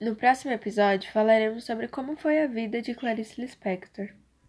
No próximo episódio, falaremos sobre como foi a vida de Clarice Lispector.